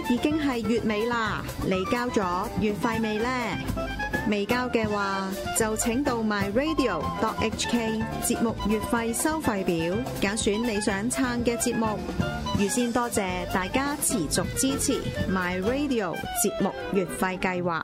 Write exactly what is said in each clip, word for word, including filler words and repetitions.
已經係月尾啦，你交咗月費未呢？未交嘅話，就請到 my radio dot h k 節目月費收費表，揀選你想撐嘅節目。預先多謝大家持續支持 my radio 節目月費計劃。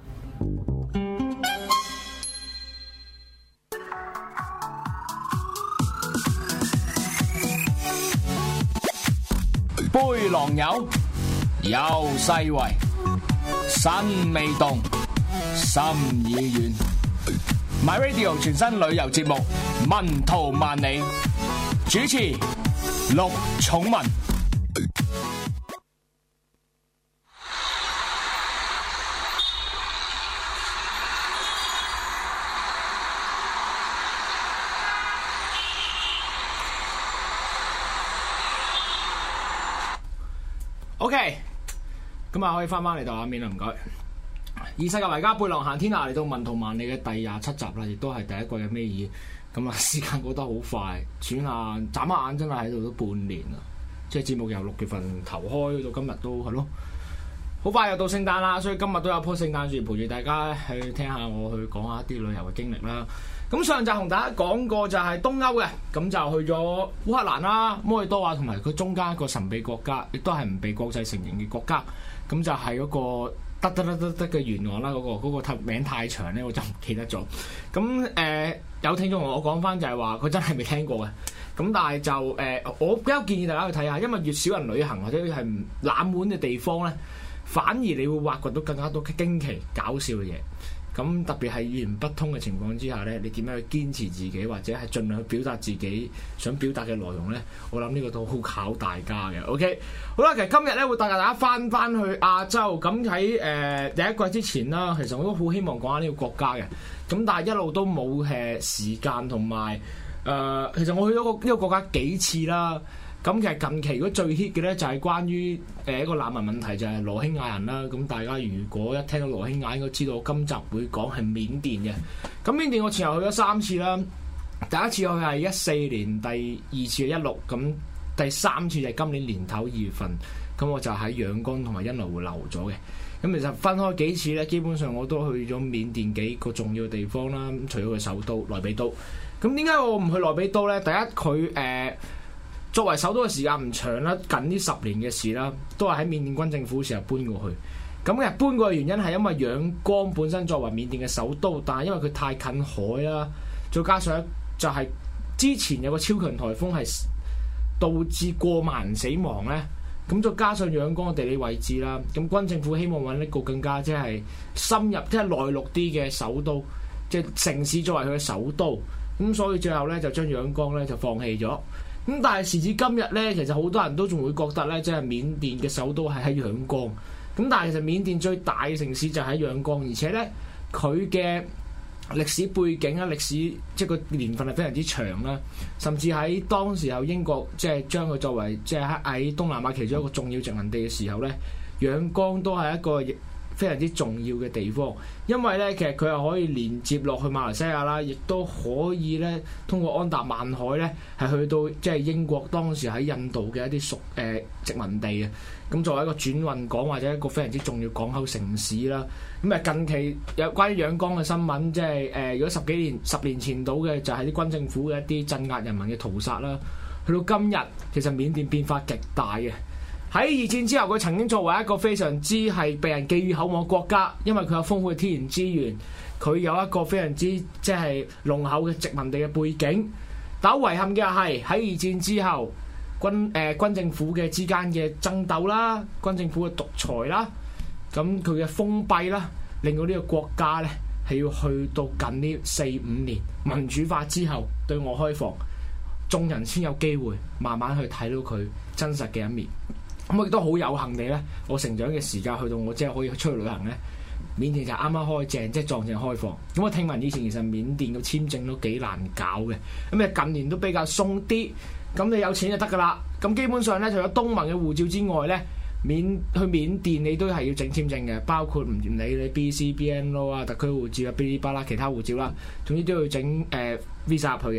杯狼友，有世味，身未動，心已遠。My Radio 全新旅遊節目《文圖萬里》，主持陸寵文。OK， 咁啊可以翻翻嚟到畫面啦，唔該。以世界為家，背囊行天下，嚟到文圖萬里嘅第廿七集啦，亦都係第一季嘅尾二。咁啊，時間過得好快，轉下眨下眼，真係喺度都半年啦。即係節目由六月份頭開到今日都係咯，好快又到聖誕啦，所以今日都有棵聖誕樹陪住大家去聽下我去講下一啲旅遊嘅經歷啦。咁上集同大家講過就係東歐嘅，咁就去咗烏克蘭啦、摩爾多瓦同埋佢中間一個神秘國家，亦都係唔被國際承認嘅國家。咁就係嗰個得得得得得嘅沿岸啦，嗰、嗰個嗰、嗰個名太長咧，我就唔記得咗。咁誒、呃、有聽眾同我講翻就係話佢真係未聽過嘅。咁但係就誒、呃，我比較建議大家去睇下，因為越少人旅行或者係冷門嘅地方咧，反而你會挖掘到更加多驚奇搞笑嘅嘢。咁特別係語言不通嘅情況之下咧，你點樣去堅持自己，或者係盡量去表達自己想表達嘅內容咧？我諗呢個都好考大家嘅。OK， 好啦，其實今日咧會帶大家翻翻去亞洲。咁喺誒第一季之前啦，其實我都好希望講下呢個國家嘅。咁但係一路都冇誒時間同埋誒，其實我去咗個呢個國家幾次啦。咁其實近期如果最 hit 嘅咧就係關於誒一個難民問題，就係羅興亞人啦。咁大家如果一聽到羅興亞，應該知道我今集會講係緬甸嘅。咁緬甸我前後去咗三次啦，第一次去係一四年，第二次係一六，咁第三次就係今年年頭二月份。咁我就喺仰光同埋茵萊湖留咗嘅。咁其實分開幾次咧，基本上我都去咗緬甸幾個重要嘅地方啦。咁除咗佢首都內比都，咁點解我唔去內比都咧？第一佢誒。呃作為首都嘅時間唔長啦，近呢十年嘅事啦，都係喺緬甸軍政府時候搬過去。咁嘅搬過去嘅原因係因為仰光本身作為緬甸嘅首都，但係因為佢太近海啦，再加上就係之前有個超強颱風係導致過萬人死亡咧，咁再加上仰光嘅地理位置啦，咁軍政府希望揾一個更加即係深入即係內陸啲嘅首都，即係城市作為佢嘅首都，咁所以最後咧就將仰光咧就放棄咗。咁但係時至今日咧，其實好多人都仲會覺得咧，即係緬甸嘅首都係喺仰光。咁但係其實緬甸最大嘅城市就喺仰光，而且咧佢嘅歷史背景啊、歷史即係個年份係非常之長啦。甚至喺當時候英國即係將佢作為即係喺東南亞其中一個重要殖民地嘅時候咧，仰光都係一個非常之重要嘅地方，因為咧其實佢又可以連接落去馬來西亞啦，亦都可以咧通過安達曼海咧係去到即係英國當時喺印度嘅一啲屬誒殖民地嘅。咁作為一個轉運港或者一個非常之重要港口城市啦。咁啊近期有關於仰光嘅新聞，即係誒如果十幾年十年前到嘅就係啲軍政府嘅一啲鎮壓人民嘅屠殺啦。去到今日其實緬甸變化極大嘅。喺二戰之後，佢曾經作為一個非常之係被人寄予厚望嘅國家，因為佢有豐富嘅天然資源，佢有一個非常之即係濃厚嘅殖民地嘅背景。但好遺憾嘅係喺二戰之後，軍誒、呃、軍政府嘅之間嘅爭鬥啦，軍政府嘅獨裁啦，咁佢嘅封閉啦，令到呢個國家咧係要去到近呢四五年民主化之後對外開放，眾人先有機會慢慢去睇到佢真實嘅一面。咁我亦都好有幸地咧，我成長嘅時間去到我即係可以出去旅行咧，緬甸就啱啱開正，即係撞正開放。咁我聽聞以前其實緬甸嘅簽證都幾難搞嘅，咁誒近年都比較鬆啲。咁你有錢就得噶啦。咁基本上咧，除咗東盟嘅護照之外咧，緬去緬甸你都係要整簽證嘅，包括唔理你 B C B N O 啊、特區護照啊、嗶哩吧啦其他護照啦，總之都要整誒、呃、visa 入去嘅。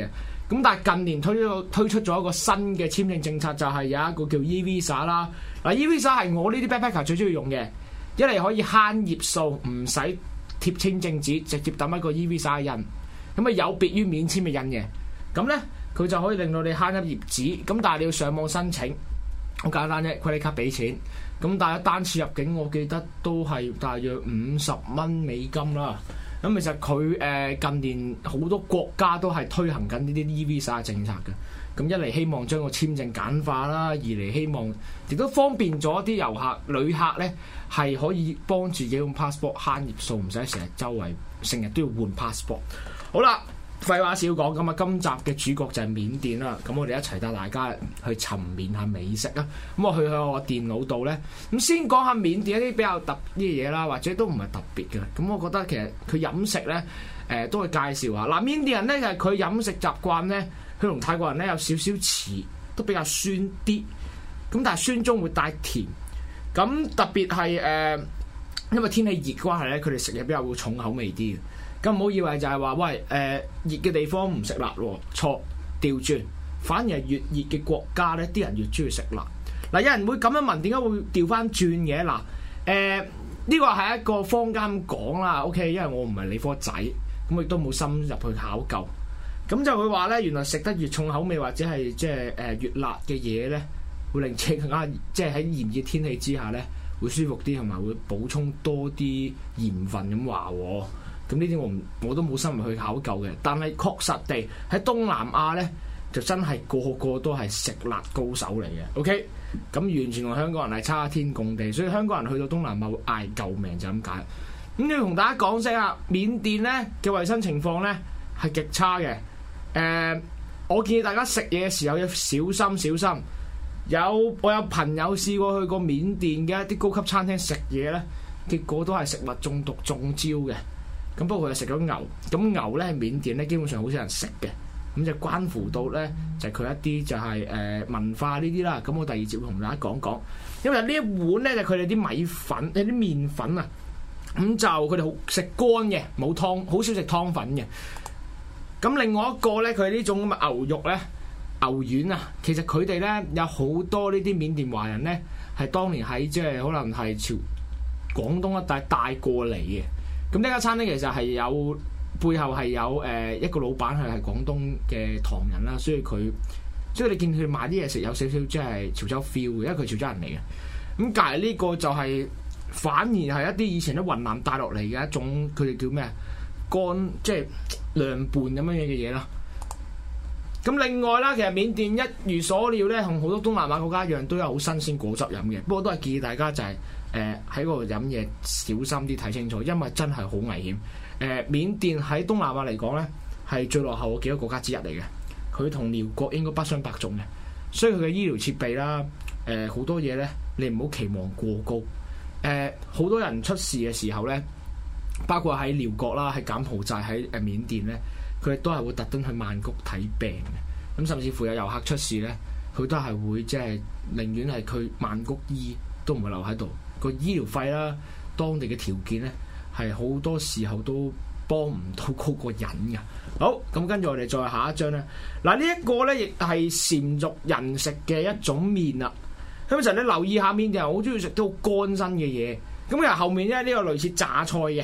咁但係近年推咗推出咗一個新嘅簽證政策，就係、是、有一個叫 e-visa 啦。嗱 e-visa 係我呢啲 backpacker 最中意用嘅，一嚟可以慳頁數，唔使貼簽證紙，直接抌一個 e-visa 印。咁啊有別於免簽嘅印嘅，咁咧佢就可以令到你慳一頁紙。咁但係你要上網申請，好簡單啫，credit card俾錢。咁但係單次入境，我記得都係大約五十蚊美金啦。咁其實佢誒近年好多國家都係推行緊呢啲 e-visa 政策嘅。咁一嚟希望將個簽證簡化啦，二嚟希望亦都方便咗啲遊客、旅客咧係可以幫自己用 passport 慳頁數，唔使成日周圍成日都要換 passport。好啦，廢話少講，咁啊今集嘅主角就係緬甸啦。咁我哋一齊帶大家去尋緬下美食啊。咁我去喺我電腦度咧，咁先講下緬甸一啲比較特別嘅嘢啦，或者都唔係特別嘅。咁我覺得其實佢飲食咧，誒、呃、都會介紹下。嗱，緬甸人咧就係佢飲食習慣咧，佢同泰國人咧有少少似，都比較酸啲。咁但係酸中會帶甜。咁特別係誒、呃，因為天氣熱嘅關係咧，佢哋食嘢比較會重口味啲嘅。咁唔好以為就係話，喂誒、呃、熱嘅地方唔食辣喎，錯，調轉，反而係越熱嘅國家咧，啲人越中意食辣。嗱，有人會咁樣問，點解會調翻轉嘅？嗱，誒呢個係一個坊間講啦 ，OK， 因為我唔係理科仔，咁亦都冇深入去考究。咁就會話咧，原來食得越重口味或者係即係誒越辣嘅嘢咧，會令自己更加即係喺炎熱天氣之下咧，會舒服啲，同埋會補充多啲鹽分咁話喎。咁呢啲我唔我都冇深入去考究嘅，但係確實地喺東南亞咧，就真係個個都係食辣高手嚟嘅。OK，咁完全同香港人係差天共地，所以香港人去到東南亞會嗌救命就咁解。咁要同大家講聲啊，緬甸咧嘅衞生情況咧係極差嘅。誒、呃，我建議大家食嘢嘅時候要小心小心。有我有朋友試過去過緬甸嘅一啲高級餐廳食嘢咧，結果都係食物中毒中招嘅。咁不過佢係食咗牛，咁牛咧喺緬甸咧基本上好少人食嘅，咁就關乎到咧就係佢一啲就係、是、誒、呃、文化呢啲啦。咁我第二節會同大家講講，因為呢一碗咧就佢哋啲米粉、有啲麵粉啊，咁就佢哋好食乾嘅，冇湯，好少食湯粉嘅。咁另外一個咧，佢呢種咁嘅牛肉咧、牛丸啊，其實佢哋咧有好多呢啲緬甸華人咧係當年喺即係可能係朝廣東一帶帶過嚟嘅。咁呢間餐廳其實係有背後係有誒、呃、一個老闆係係廣東嘅唐人啦，所以佢所以你見佢賣啲嘢食有少少即係潮州 feel 嘅，因為佢潮州人嚟嘅。咁隔離呢個就係、是、反而係一啲以前喺雲南帶落嚟嘅一種，佢哋叫咩啊？乾即係涼拌咁樣嘢嘅嘢啦。咁另外啦，其實緬甸一如所料咧，同好多東南亞國家一樣，都有好新鮮果汁飲嘅。不過都係建議大家就係、是。誒喺嗰度飲嘢小心啲，睇清楚，因為真係好危險。誒、呃、緬甸喺東南亞嚟講咧，係最落後嘅幾個國家之一嚟嘅。佢同寮國應該不相伯仲嘅，所以佢嘅醫療設備啦，誒、呃、好多嘢咧，你唔好期望過高。誒、呃、好多人出事嘅時候咧，包括喺寮國啦、喺柬埔寨、喺誒緬甸咧，佢哋都係會特登去曼谷睇病嘅。咁甚至乎有遊客出事咧，佢都係會即係寧願係去曼谷醫，都唔會留喺度。個醫療費啦，當地嘅條件咧，係好多時候都幫唔到嗰個人㗎。好，咁跟住我哋再下一張咧。嗱，呢一個咧亦係禪族人食嘅一種麵啦。咁其實你留意下，緬甸人好中意食啲好乾身嘅嘢。咁其實後面咧呢、呢個類似榨菜嘅。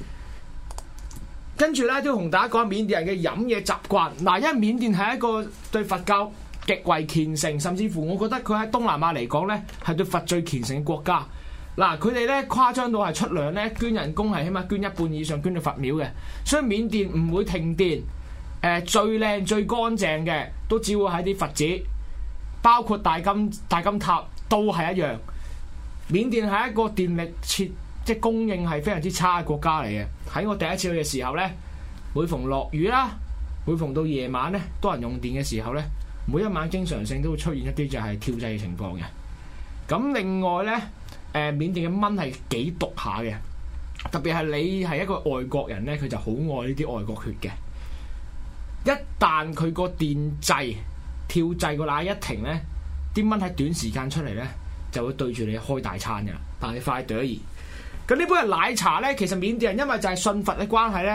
跟住咧都同大家講下緬甸人嘅飲嘢習慣。嗱，因為緬甸係一個對佛教極為虔誠，甚至乎我覺得佢喺東南亞嚟講咧係對佛最虔誠嘅國家。嗱，佢哋咧誇張到係出糧咧捐人工係起碼捐一半以上捐到佛廟嘅，所以緬甸唔會停電。誒、呃、最靚最乾淨嘅都只會喺啲佛寺，包括大金大金塔都係一樣。緬甸係一個電力設即係供應係非常之差嘅國家嚟嘅。喺我第一次去嘅時候咧，每逢落雨啦，每逢到夜晚咧多人用電嘅時候咧，每一晚經常性都會出現一啲就係跳掣嘅情況嘅。咁另外咧。誒、呃、緬甸嘅蚊係幾毒下嘅，特別係你係一個外國人咧，佢就好愛呢啲外國血嘅。一旦佢個電掣跳掣個奶一停咧，啲蚊喺短時間出嚟咧，就會對住你開大餐㗎。但係你快啲。咁呢杯係奶茶咧，其實緬甸人因為就係信佛嘅關係咧，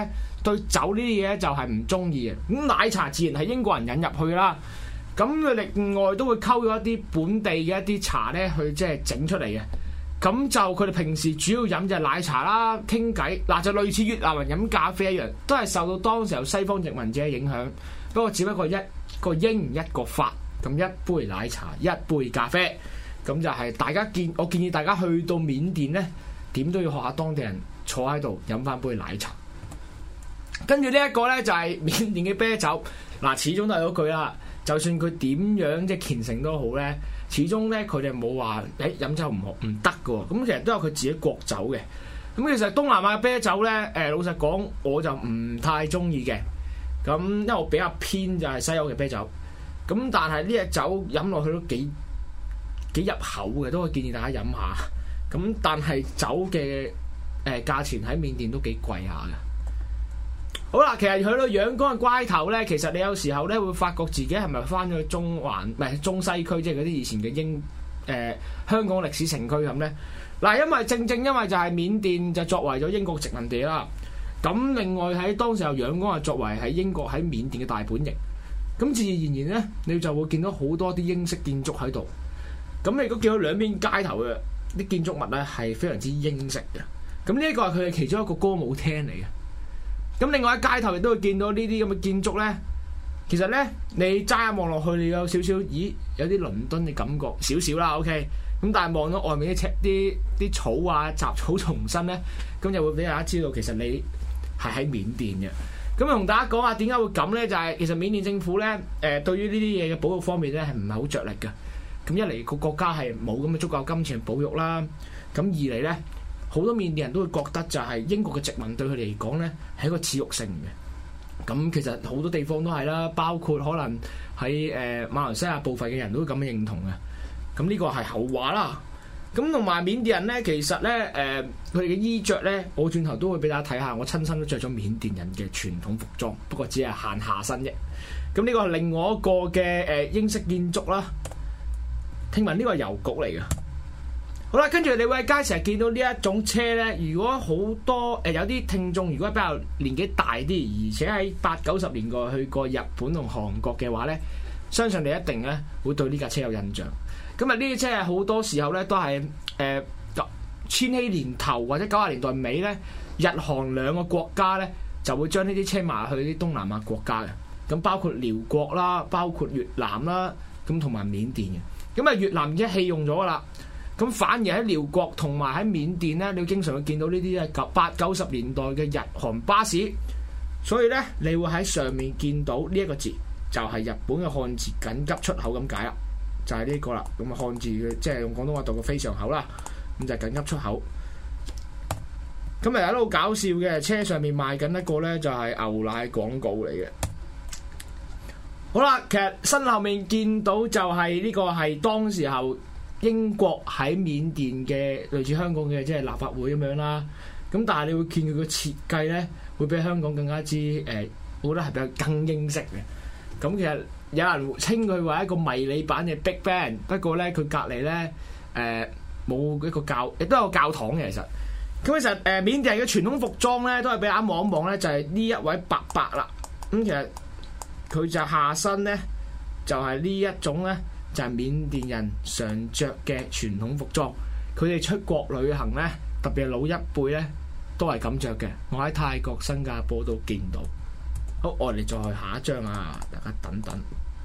對酒呢啲嘢就係唔中意嘅。咁奶茶自然係英國人引入去啦。咁佢另外都會溝咗一啲本地嘅一啲茶咧，去即係整出嚟嘅。咁就佢哋平時主要飲就係奶茶啦，傾偈嗱就類似越南人飲咖啡一樣，都係受到當時候西方殖民者嘅影響。不過只不過一個英一個法，咁一杯奶茶一杯咖啡，咁就係大家建我建議大家去到緬甸咧，點都要學下當地人坐喺度飲翻杯奶茶。跟住呢一個咧就係緬甸嘅啤酒，嗱始終都係嗰句啦。就算佢點樣即係虔誠都好咧，始終咧佢哋冇話誒飲酒唔好唔得嘅喎。咁其實都有佢自己國酒嘅。咁其實東南亞嘅啤酒咧，誒老實講我就唔太中意嘅。咁因為我比較偏就係西歐嘅啤酒。咁但係呢隻酒飲落去都幾幾入口嘅，都可以建議大家飲下。咁但係酒嘅誒價錢喺緬甸都幾貴下嘅。好啦，其實去到仰光嘅關頭咧，其實你有時候咧會發覺自己係咪翻咗去中環，唔係中西區，即係嗰啲以前嘅英誒、呃、香港歷史城區咁咧。嗱，因為正正因為就係緬甸就作為咗英國殖民地啦。咁另外喺當時候仰光係作為喺英國喺緬甸嘅大本營。咁自然而然咧，你就會見到好多啲英式建築喺度。咁你如果見到兩邊街頭嘅啲建築物咧，係非常之英式嘅。咁呢一個係佢哋其中一個歌舞廳嚟嘅。咁另外喺街頭亦都會見到呢啲咁嘅建築咧，其實咧你齋一望落去，你有少少，咦有啲倫敦嘅感覺少少啦 ，OK。咁但係望到外面啲啲啲草啊雜草叢生咧，咁就會俾大家知道其實你係喺緬甸嘅。咁同大家講下點解會咁咧？就係、是、其實緬甸政府咧，誒、呃、對於呢啲嘢嘅保育方面咧係唔係好着力嘅。咁一嚟個國家係冇咁嘅足夠金錢保育啦，咁二嚟咧。好多緬甸人都會覺得就係英國嘅殖民對佢哋嚟講咧係一個恥辱性嘅。咁其實好多地方都係啦，包括可能喺誒、呃、馬來西亞部分嘅人都會咁樣認同嘅。咁呢個係後話啦。咁同埋緬甸人咧，其實咧誒佢哋嘅衣着咧，我轉頭都會俾大家睇下。我親身都着咗緬甸人嘅傳統服裝，不過只係限下身啫。咁呢個係另外一個嘅誒、呃、英式建築啦。聽聞呢個係郵局嚟嘅。好啦，跟住你會喺街成日見到呢一種車咧。如果好多誒、呃、有啲聽眾，如果比較年紀大啲，而且喺八九十年代去過日本同韓國嘅話咧，相信你一定咧會對呢架車有印象。咁啊，呢啲車係好多時候咧都係誒、呃、千禧年頭或者九十年代尾咧，日韓兩個國家咧就會將呢啲車賣去啲東南亞國家嘅。咁包括寮國啦，包括越南啦，咁同埋緬甸嘅。咁啊，越南已經棄用咗噶啦。咁反而喺寮國同埋喺緬甸咧，你經常會見到呢啲咧九八九十年代嘅日韓巴士，所以咧你會喺上面見到呢一個字，就係、是、日本嘅漢字緊急出口咁解啦，就係、是、呢個啦。咁啊漢字嘅即係用廣東話讀個非常口啦，咁就係緊急出口。咁啊有啲好搞笑嘅，車上面賣緊一個咧就係牛奶廣告嚟嘅。好啦，其實身後面見到就係呢個係當時候。英國喺緬甸嘅類似香港嘅即係立法會咁樣啦，咁但係你會見佢個設計咧，會比香港更加之誒、呃，我覺得係比較更英式嘅。咁其實有人稱佢為一個迷你版嘅 Big Ben， 不過咧佢隔離咧誒冇一個教，亦都有教堂嘅其實。咁其實誒、呃、緬甸人嘅傳統服裝咧，都係俾大家望一望咧，就係、是、呢一位伯伯啦。咁其實佢就下身咧，就係、是、呢一種咧。就係緬甸人常着嘅傳統服裝，佢哋出國旅行咧，特別係老一輩咧，都係咁着嘅。我喺泰國、新加坡都見到。好，我哋再去下一張啊！大家等等。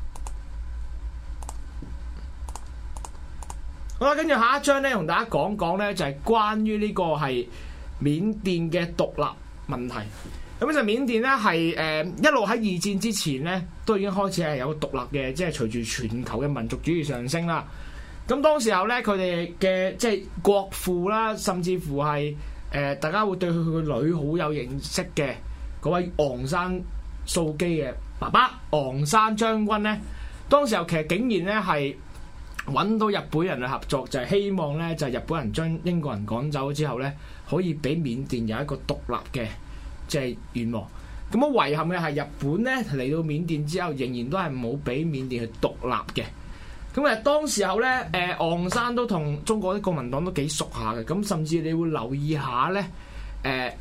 好啦，跟住下一張咧，同大家講講咧，就係關於呢個係緬甸嘅獨立問題。咁就緬甸咧係誒一路喺二戰之前咧，都已經開始係有個獨立嘅，即係隨住全球嘅民族主義上升啦。咁當時候咧，佢哋嘅即係國父啦，甚至乎係誒、呃、大家會對佢佢個女好有認識嘅嗰位昂山素基嘅爸爸昂山將軍咧，當時候其實竟然咧係揾到日本人去合作，就係、是、希望咧就係、是、日本人將英國人趕走之後咧，可以俾緬甸有一個獨立嘅。即係願望，咁啊遺憾嘅係日本咧嚟到緬甸之後，仍然都係冇俾緬甸去獨立嘅。咁啊當時候咧，誒昂山都同中國啲國民黨都幾熟下嘅，咁甚至你會留意下咧，誒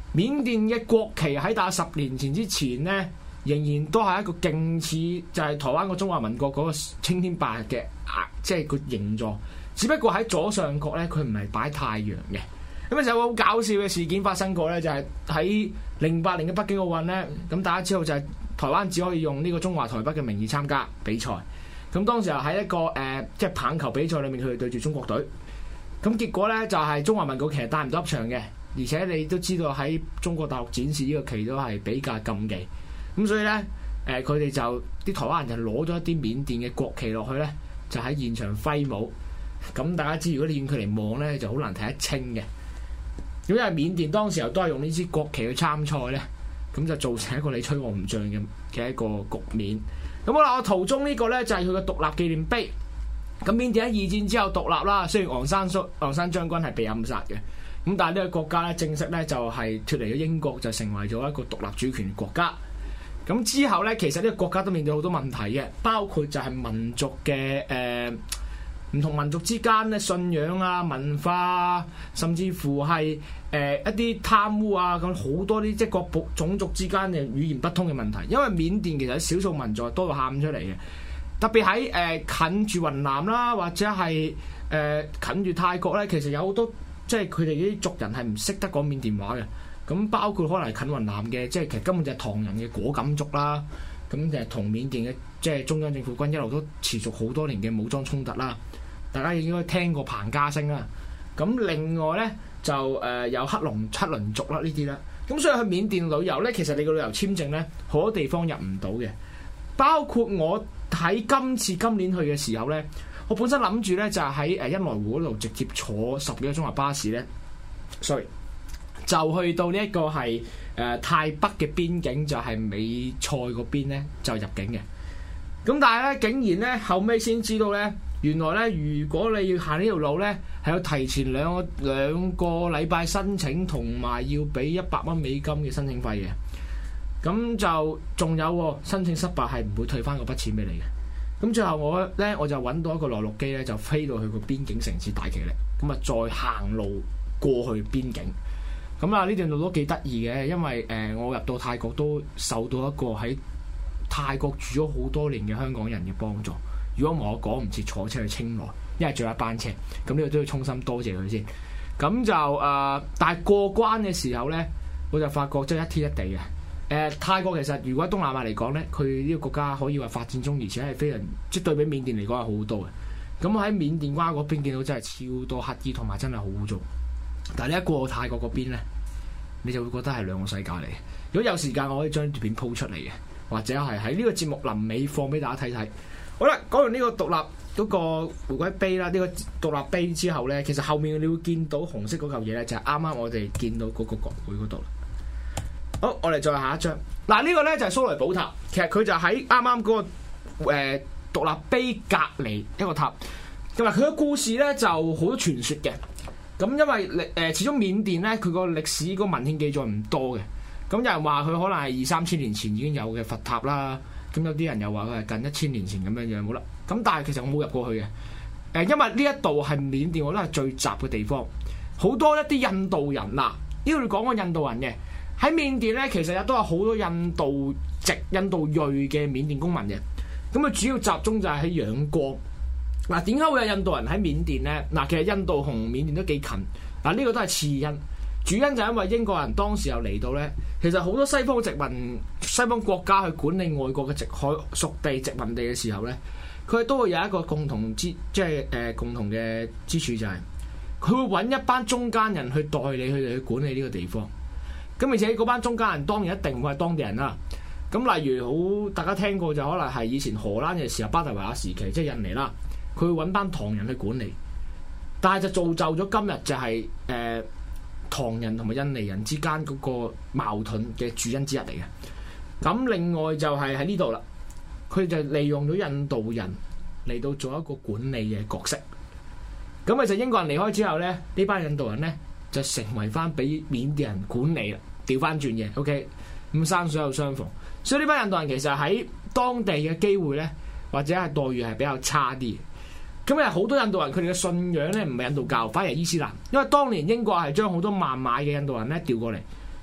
緬甸嘅國旗喺大概十年前之前咧，仍然都係一個勁似就係台灣個中華民國嗰個青天白日嘅啊，即係個形狀。只不過喺左上角咧，佢唔係擺太陽嘅。咁啊，就有個好搞笑嘅事件發生過咧，就係喺零八年嘅北京奧運咧。咁大家知道就係台灣只可以用呢個中華台北嘅名義參加比賽。咁當時候喺一個誒、呃，即係棒球比賽裏面，佢哋對住中國隊。咁結果咧就係、是、中華民國其實帶唔到入場嘅，而且你都知道喺中國大陸展示呢個旗都係比較禁忌。咁所以咧誒，佢、呃、哋就啲台灣人就攞咗一啲緬甸嘅國旗落去咧，就喺現場揮舞。咁大家知，如果你遠距離望咧，就好難睇得清嘅。咁因為緬甸當時候都係用呢支國旗去參賽咧，咁就造成一個你吹我唔漲嘅嘅一個局面。咁好啦，我圖中呢個咧就係佢嘅獨立紀念碑。咁緬甸喺二戰之後獨立啦，雖然昂山蘇昂山將軍係被暗殺嘅，咁但係呢個國家咧正式咧就係脫離咗英國，就成為咗一個獨立主權國家。咁之後咧，其實呢個國家都面對好多問題嘅，包括就係民族嘅誒唔同民族之間咧信仰啊、文化啊，甚至乎係誒、呃、一啲貪污啊，咁好多啲即係各部種族之間嘅語言不通嘅問題。因為緬甸其實少數民族係多到喊出嚟嘅。特別喺誒、呃、近住雲南啦，或者係誒、呃、近住泰國咧，其實有好多即係佢哋啲族人係唔識得講緬甸話嘅。咁包括可能近雲南嘅，即係其實根本就係唐人嘅果敢族啦。咁就係同緬甸嘅即係中央政府軍一路都持續好多年嘅武裝衝突啦。大家應該聽過彭家聲啦。咁另外咧就誒、呃、有黑龍七輪族啦呢啲啦。咁所以去緬甸旅遊咧，其實你個旅遊簽證咧好多地方入唔到嘅，包括我。喺今次今年去嘅時候咧，我本身諗住咧就係喺誒茵萊湖嗰度直接坐十幾個鐘頭巴士咧，sorry，就去到呢一個係誒、呃、泰北嘅邊境，就係、是、美塞嗰邊咧就入境嘅。咁但係咧，竟然咧後尾先知道咧，原來咧如果你要行呢條路咧，係要提前兩個兩個禮拜申請，同埋要俾一百蚊美金嘅申請費嘅。咁就仲有、哦、申請失敗係唔會退翻嗰筆錢俾你嘅。咁最後我咧我就揾到一個內陸機咧，就飛到去個邊境城市大其力，咁啊再行路過去邊境。咁啊呢段路都幾得意嘅，因為誒、呃、我入到泰國都受到一個喺泰國住咗好多年嘅香港人嘅幫助。如果我講唔切坐車去清萊，因為仲有一班車，咁呢個都要衷心多謝佢先。咁就誒、呃，但係過關嘅時候咧，我就發覺真係一天一地嘅。誒、呃、泰國其實如果喺東南亞嚟講咧，佢呢個國家可以話發展中，而且係非常即係對比緬甸嚟講係好好多嘅。咁我喺緬甸關嗰邊見到真係超多乞兒，同埋真係好污糟。但係你一過泰國嗰邊咧，你就會覺得係兩個世界嚟嘅。如果有時間，我可以將條片鋪出嚟嘅，或者係喺呢個節目臨尾放俾大家睇睇。好啦，講完呢個獨立嗰、嗰個回歸碑啦，呢、呢個獨立碑之後咧，其實後面你會見到紅色嗰嚿嘢咧，就係啱啱我哋見到嗰個國會嗰度。好，我哋再下一張。嗱，呢個咧就係蘇雷寶塔，其實佢就喺啱啱嗰個誒獨立碑隔離一個塔。咁啊，佢嘅故事咧就好多傳說嘅。咁因為歷誒始終緬甸咧，佢個歷史個文獻記載唔多嘅。咁有人話佢可能係二三千年前已經有嘅佛塔啦。咁有啲人又話佢係近一千年前咁樣樣，冇啦。咁但係其實我冇入過去嘅。誒，因為呢一度係緬甸，我覺得係最雜嘅地方，好多一啲印度人嗱，呢度講個印度人嘅。喺緬甸咧，其實亦都有好多印度籍、印度裔嘅緬甸公民嘅。咁啊，主要集中就係喺仰光。嗱，點解會有印度人喺緬甸咧？嗱，其實印度同緬甸都幾近。嗱，呢個都係次因。主因就係因為英國人當時又嚟到咧，其實好多西方殖民、西方國家去管理外國嘅殖海屬地、殖民地嘅時候咧，佢都會有一個共同之，即係誒、呃、共同嘅之處就係、是，佢會揾一班中間人去代理佢哋去管理呢個地方。咁而且嗰班中間人當然一定唔會係當地人啦。咁例如好大家聽過就可能係以前荷蘭嘅時候，巴特維亞時期即係印尼啦，佢會揾班唐人去管理，但係就造就咗今日就係、是、誒、呃、唐人同埋印尼人之間嗰個矛盾嘅主因之一嚟嘅。咁另外就係喺呢度啦，佢就利用咗印度人嚟到做一個管理嘅角色。咁其實英國人離開之後咧，呢班印度人咧就成為翻俾緬甸人管理啦，調翻轉嘅。OK，咁山水有相逢，所以呢班印度人其實喺當地嘅機會咧，或者係待遇係比較差啲。咁啊，好多印度人佢哋嘅信仰咧唔係印度教，反而係伊斯蘭。因為當年英國係將好多孟買嘅印度人咧調過嚟，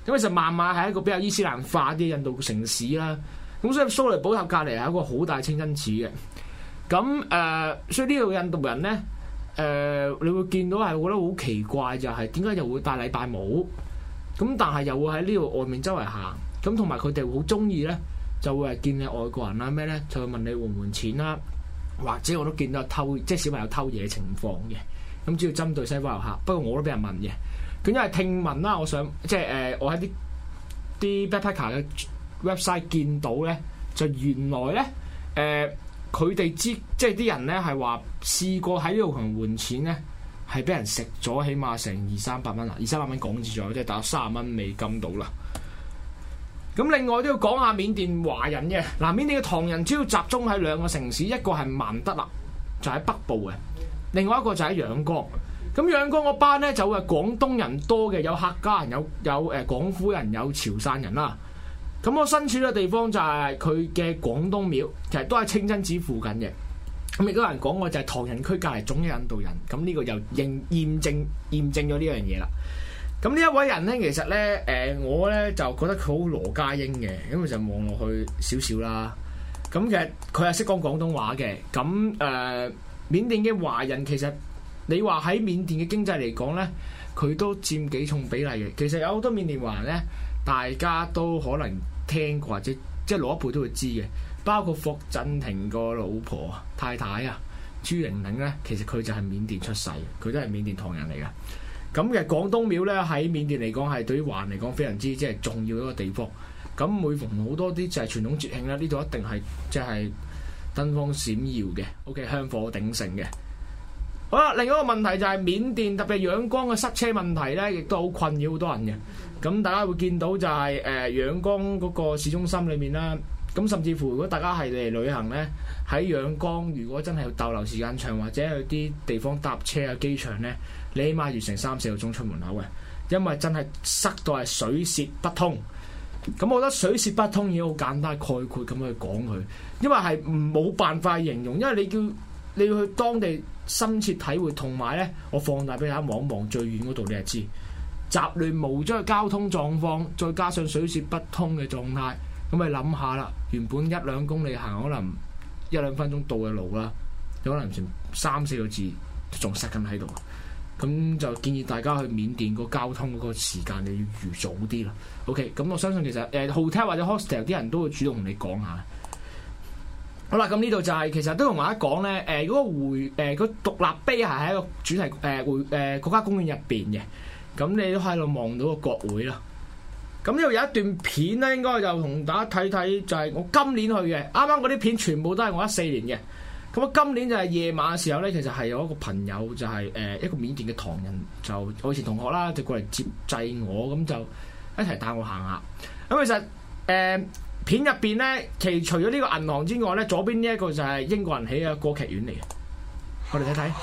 咁其實孟買係一個比較伊斯蘭化啲印度城市啦。咁所以蘇雷寶塔隔離係一個好大清真寺嘅。咁誒、呃，所以呢度印度人咧誒、呃，你會見到係覺得好奇怪，就係點解又會戴禮拜帽？咁但係又會喺呢度外面周圍行。咁同埋佢哋好中意咧，就會係見你外國人啦咩咧，就會問你還唔還錢啦，或者我都見到有偷，即係小朋友偷嘢情況嘅。咁主要針對西方遊客，不過我都俾人問嘅。咁因為聽聞啦，我想即係誒、呃，我喺啲啲 backpacker 嘅 website 見到咧，就原來咧誒，佢、呃、哋知即係啲人咧係話試過喺呢度同人換錢咧，係俾人食咗，起碼成二三百蚊啊，二三百蚊港紙左右，即係大約三十蚊美金到啦。咁另外都要講下緬甸華人嘅嗱，緬甸嘅唐人主要集中喺兩個城市，一個係曼德勒，就喺北部嘅；另外一個就喺仰光。咁仰光嗰班咧就會係廣東人多嘅，有客家人，有有誒廣府人，有潮汕人啦。咁我身處嘅地方就係佢嘅廣東廟，其實都係清真寺附近嘅。咁亦都有人講過就係唐人區隔離總有印度人，咁呢個又認驗證驗證咗呢樣嘢啦。咁呢一位人咧，其實咧，誒、呃、我咧就覺得佢好羅家英嘅，因為就望落去少少啦。咁其實佢係識講廣東話嘅。咁誒、呃，緬甸嘅華人其實你話喺緬甸嘅經濟嚟講咧，佢都佔幾重比例嘅。其實有好多緬甸華人咧，大家都可能聽過或者即係老一輩都會知嘅，包括霍震霆個老婆太太啊，朱玲玲咧，其實佢就係緬甸出世，佢都係緬甸唐人嚟嘅。咁嘅廣東廟咧喺緬甸嚟講係對於華人嚟講非常之即係重要一個地方。咁每逢好多啲就係傳統節慶咧，呢度一定係即係燈光閃耀嘅 ，OK 香火鼎盛嘅。好啦，另一個問題就係緬甸特別仰光嘅塞車問題咧，亦都好困擾好多人嘅。咁大家會見到就係誒仰光嗰個市中心裏面啦。咁甚至乎如果大家係嚟旅行咧，喺仰光如果真係要逗留時間長或者去啲地方搭車啊機場咧，你起碼要成三四個鐘出門口嘅，因為真係塞到係水泄不通。咁我覺得水泄不通已經好簡單概括咁去講佢，因為係冇辦法形容，因為你叫你要去當地深切體會，同埋咧我放大俾大家望一望最遠嗰度，你就知雜亂無章嘅交通狀況，再加上水泄不通嘅狀態。咁你諗下啦，原本一兩公里行可能一兩分鐘到嘅路啦，有可能成三四個字仲塞緊喺度。咁就建議大家去緬甸個交通嗰個時間你要預早啲啦。OK，咁我相信其實誒、呃、hotel 或者 hostel 啲人都會主動同你講下。好啦，咁呢度就係、是、其實都同大家講咧，誒、呃、嗰、那個回誒個、呃、獨立碑係喺一個主題誒回誒國家公園入邊嘅。咁你都喺度望到個國會啦。咁呢度有一段片咧，應該就同大家睇睇，就係我今年去嘅。啱啱嗰啲片全部都係我一四年嘅。咁我今年就係夜晚嘅時候咧，其實係有一個朋友就係、是、誒、呃、一個緬甸嘅唐人，就我以前同學啦，就過嚟接濟我，咁就一齊帶我行下。咁其實誒、呃、片入邊咧，其除咗呢個銀行之外咧，左邊呢一個就係英國人起嘅歌劇院嚟嘅。我哋睇睇。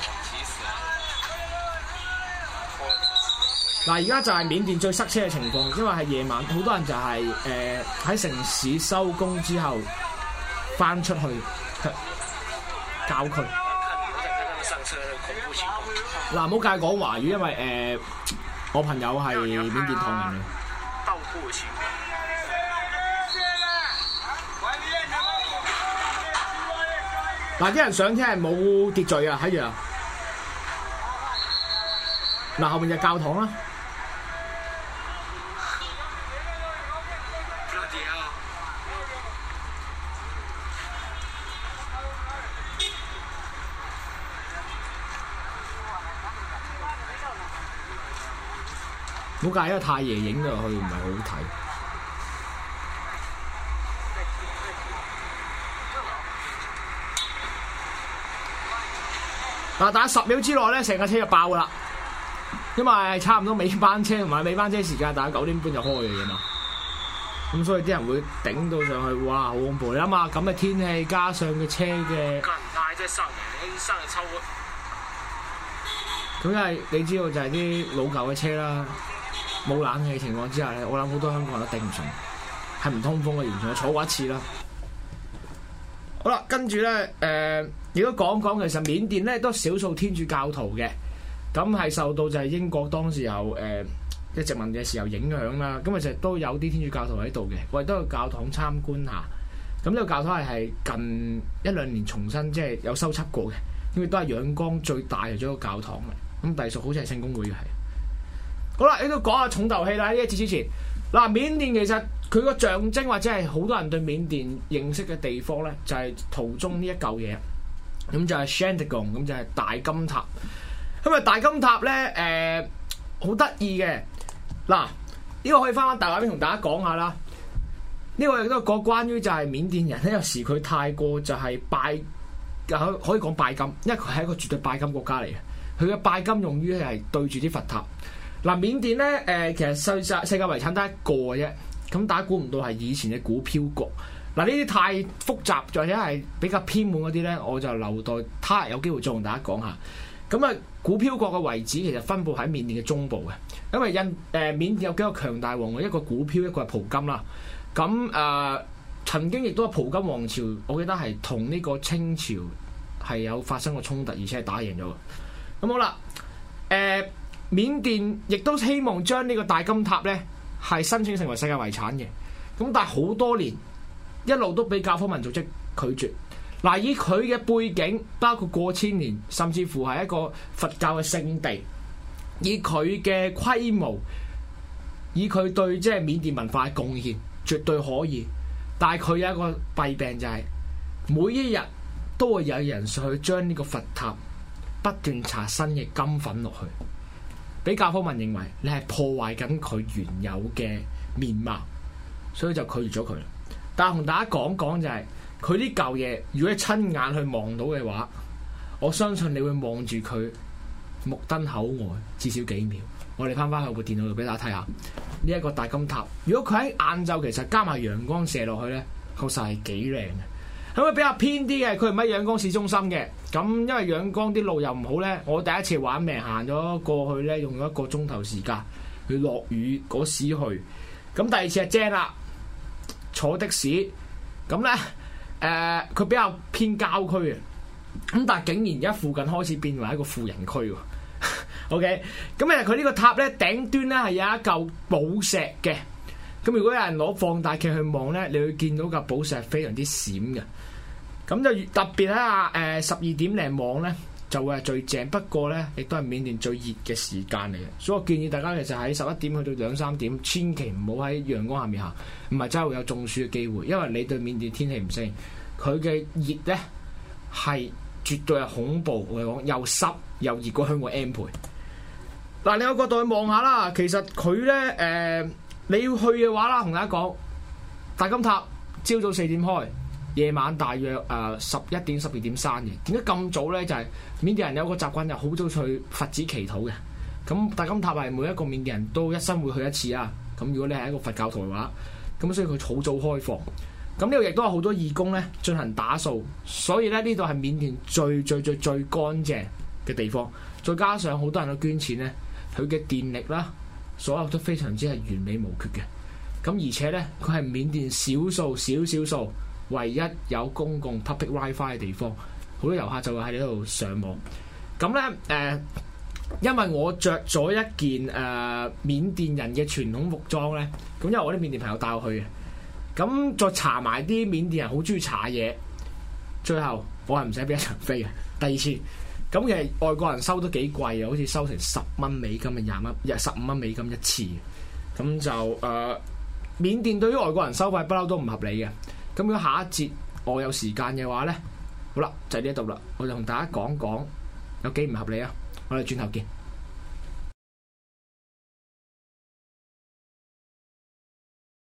嗱，而家就係緬甸最塞車嘅情況，因為係夜晚，好多人就係誒喺城市收工之後翻出去郊區。嗱，唔好介意講華語，因為誒、呃、我朋友係緬甸唐人嚟。嗱，啲人上車係冇秩序啊，喺度。嗱，後面就係教堂啦。冇介意，因為太爺影落去唔係好睇。嗱，但係十秒之內咧，成架車就爆噶啦，因為差唔多尾班車同埋尾班車時間，大概九點半就開嘅嘛。咁所以啲人會頂到上去，哇，好恐怖！你諗下咁嘅天氣，加上嘅車嘅，咁因為你知道就係啲老舊嘅車啦，冇冷氣情況之下咧，我諗好多香港人都頂唔順，係唔通風嘅，完全係坐過一次啦。好啦，跟住咧，誒、呃，如果講講其實緬甸咧都少數天主教徒嘅，咁係受到就係英國當時候誒即係殖民嘅時候影響啦。咁其實都有啲天主教徒喺度嘅，我哋都去教堂參觀下。咁呢個教堂係係近一兩年重新即係有修葺過嘅，因為都係仰光最大嘅一個教堂嘅。咁隸屬好似係聖公會嘅係。好啦，你都講下重頭戲啦。呢一節之前，嗱，緬甸其實佢個象徵或者係好多人對緬甸認識嘅地方咧，就係、是、圖中呢一嚿嘢，咁就係 Shantigong， 咁就係大金塔。咁啊，大金塔咧，誒好得意嘅。嗱，呢、這個可以翻翻大畫面同大家講下啦。呢、這個亦都講關於就係緬甸人咧，有時佢太過就係拜，可可以講拜金，因為佢係一個絕對拜金國家嚟嘅。佢嘅拜金用於係對住啲佛塔。嗱，緬甸咧，誒、呃、其實世界世界遺產得一個嘅啫。咁大家估唔到係以前嘅古漂國。嗱，呢啲太複雜或者係比較偏門嗰啲咧，我就留待他日有機會再同大家講下。咁啊，古漂國嘅遺址其實分佈喺緬甸嘅中部嘅，因為印誒、呃、緬甸有幾個強大王，一個古漂，一個係蒲金啦。咁誒、呃、曾經亦都係蒲金王朝，我記得係同呢個清朝係有發生過衝突，而且係打贏咗嘅。咁好啦，誒、呃、緬甸亦都希望將呢個大金塔咧係申請成為世界遺產嘅。咁但係好多年一路都俾教科文組織拒絕。嗱，以佢嘅背景，包括過千年，甚至乎係一個佛教嘅聖地，以佢嘅規模，以佢對即係緬甸文化嘅貢獻，絕對可以。但係佢有一個弊病就係、是，每一日都會有人上去將呢個佛塔不斷搽新嘅金粉落去，俾教科文認為你係破壞緊佢原有嘅面貌，所以就拒絕咗佢。但係同大家講講就係、是。佢呢嚿嘢，如果你親眼去望到嘅話，我相信你會望住佢目瞪口呆至少幾秒。我哋翻翻去部電腦度俾大家睇下呢一個大金塔。如果佢喺晏晝其實加埋陽光射落去咧，確實係幾靚嘅。咁啊比較偏啲嘅，佢唔喺仰光市中心嘅。咁因為仰光啲路又唔好咧，我第一次玩命行咗過去咧，用咗一個鐘頭時間去落雨嗰時去。咁第二次係正啦，坐的士咁咧。誒，佢、呃、比較偏郊區嘅，咁但係竟然而家附近開始變為一個富人區喎。OK，咁誒佢呢個塔咧頂端咧係有一嚿寶石嘅，咁如果有人攞放大鏡去望咧，你會見到嚿寶石係非常之閃嘅。咁就特別喺啊誒十二點零望咧就會係最正，不過咧亦都係緬甸最熱嘅時間嚟嘅，所以我建議大家其實喺十一點去到兩三點，千祈唔好喺陽光下面行，唔係真係會有中暑嘅機會，因為你對緬甸天氣唔適應。佢嘅熱咧係絕對係恐怖，我哋講又濕又熱過香港 M 倍。嗱，另一個角度去望下啦，其實佢咧誒你要去嘅話啦，同大家講，大金塔朝早四點開，夜晚大約誒十一點十二點閂嘅。點解咁早咧？就係、是、緬甸人有個習慣，就好早去佛寺祈禱嘅。咁大金塔係每一個緬甸人都一生會去一次啊。咁如果你係一個佛教徒嘅話，咁所以佢好早開放。咁呢度亦都有好多義工咧進行打掃，所以咧呢度係緬甸最最最最乾淨嘅地方。再加上好多人都捐錢咧，佢嘅電力啦，所有都非常之係完美無缺嘅。咁而且咧，佢係緬甸少數少少數唯一有公共 public WiFi 嘅地方，好多遊客就會喺呢度上網。咁咧誒，因為我着咗一件誒、呃、緬甸人嘅傳統服裝咧，咁因為我啲緬甸朋友帶我去嘅。咁再查埋啲緬甸人好中意查嘢，最後我係唔使俾一場飛嘅。第二次，咁其實外國人收都幾貴啊，好似收成十蚊美金嘅廿蚊，日十五蚊美金一次。咁就誒、呃，緬甸對於外國人收費不嬲都唔合理嘅。咁如果下一節我有時間嘅話咧，好啦，就喺呢度啦，我就同大家講講有幾唔合理啊！我哋轉頭見。